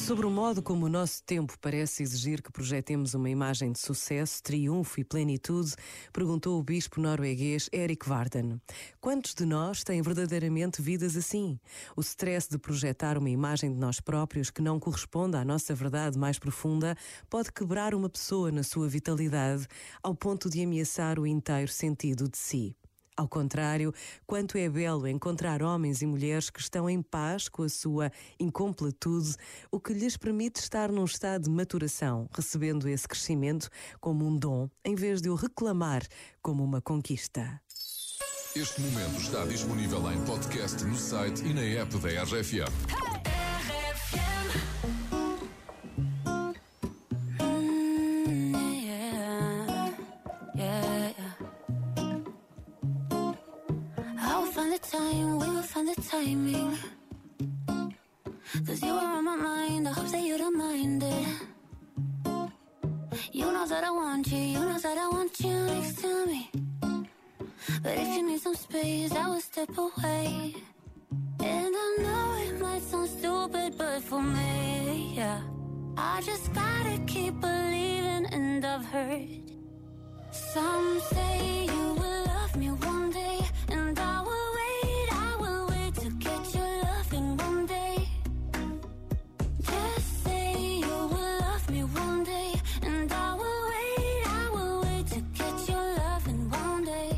Sobre o modo como o nosso tempo parece exigir que projetemos uma imagem de sucesso, triunfo e plenitude, perguntou o bispo norueguês Erik Varden. Quantos de nós têm verdadeiramente vidas assim? O stress de projetar uma imagem de nós próprios que não corresponde à nossa verdade mais profunda pode quebrar uma pessoa na sua vitalidade ao ponto de ameaçar o inteiro sentido de si. Ao contrário, quanto é belo encontrar homens e mulheres que estão em paz com a sua incompletude, o que lhes permite estar num estado de maturação, recebendo esse crescimento como um dom, em vez de o reclamar como uma conquista. Este momento está disponível em podcast no site e na app da RFM. We will find the timing. 'Cause you are on my mind, I hope that you don't mind it. You know that I want you, you know that I want you next to me. But if you need some space, I will step away. And I know it might sound stupid, but for me, yeah, I just gotta keep believing. And I've heard some say you will love me one day, and I will wait to get your loving one day. Just say you will love me one day, and I will wait to get your loving one day.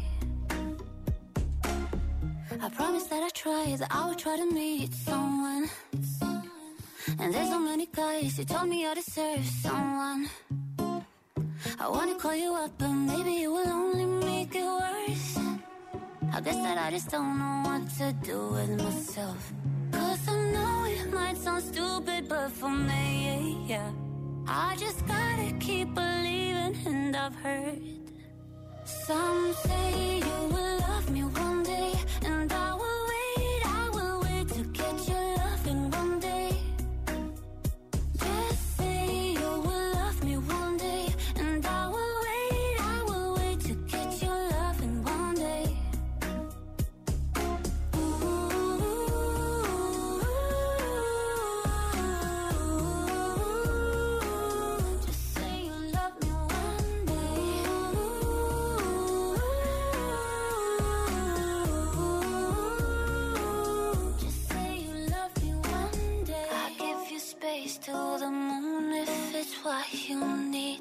I promise that I will try to meet someone. And there's so many guys who told me I deserve someone. I wanna call you up, but maybe it will only make it worse. I guess that I just don't know what to do with myself. 'Cause I know it might sound stupid, but for me, yeah, I just gotta keep believing. And I've heard some say you will love me one day, and I will wait to get your loving one day. Just say you will love me one day, and I will wait to get your loving one day. Just say you love me one day. Just say you love me one day. I give you space to the moon if it's what you need.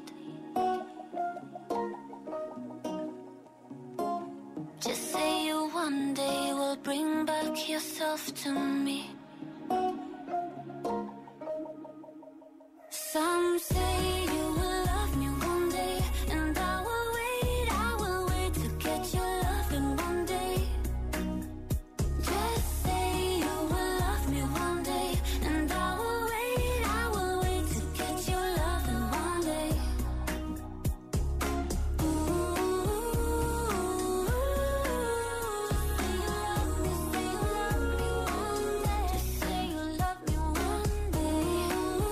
Just say you one day will bring back yourself to me. Some say you will love me one day, and I will wait to get your loving one day. Just say you will love me one day, and I will wait to get your loving one day. Just say you love me one day.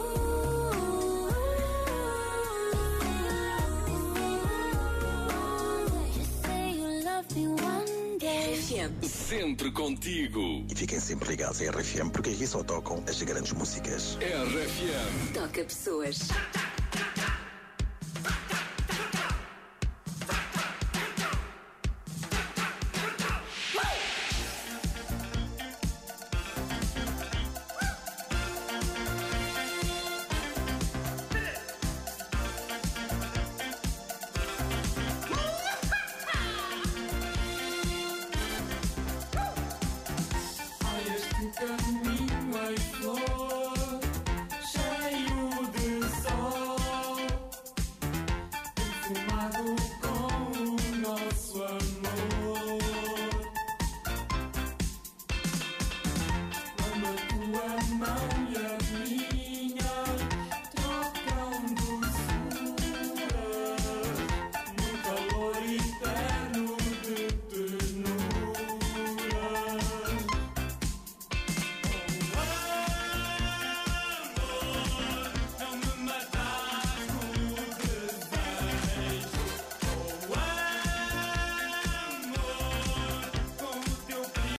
Just say you love me one day. Sempre contigo. E fiquem sempre ligados à RFM, porque aqui só tocam as grandes músicas. RFM. Toca pessoas.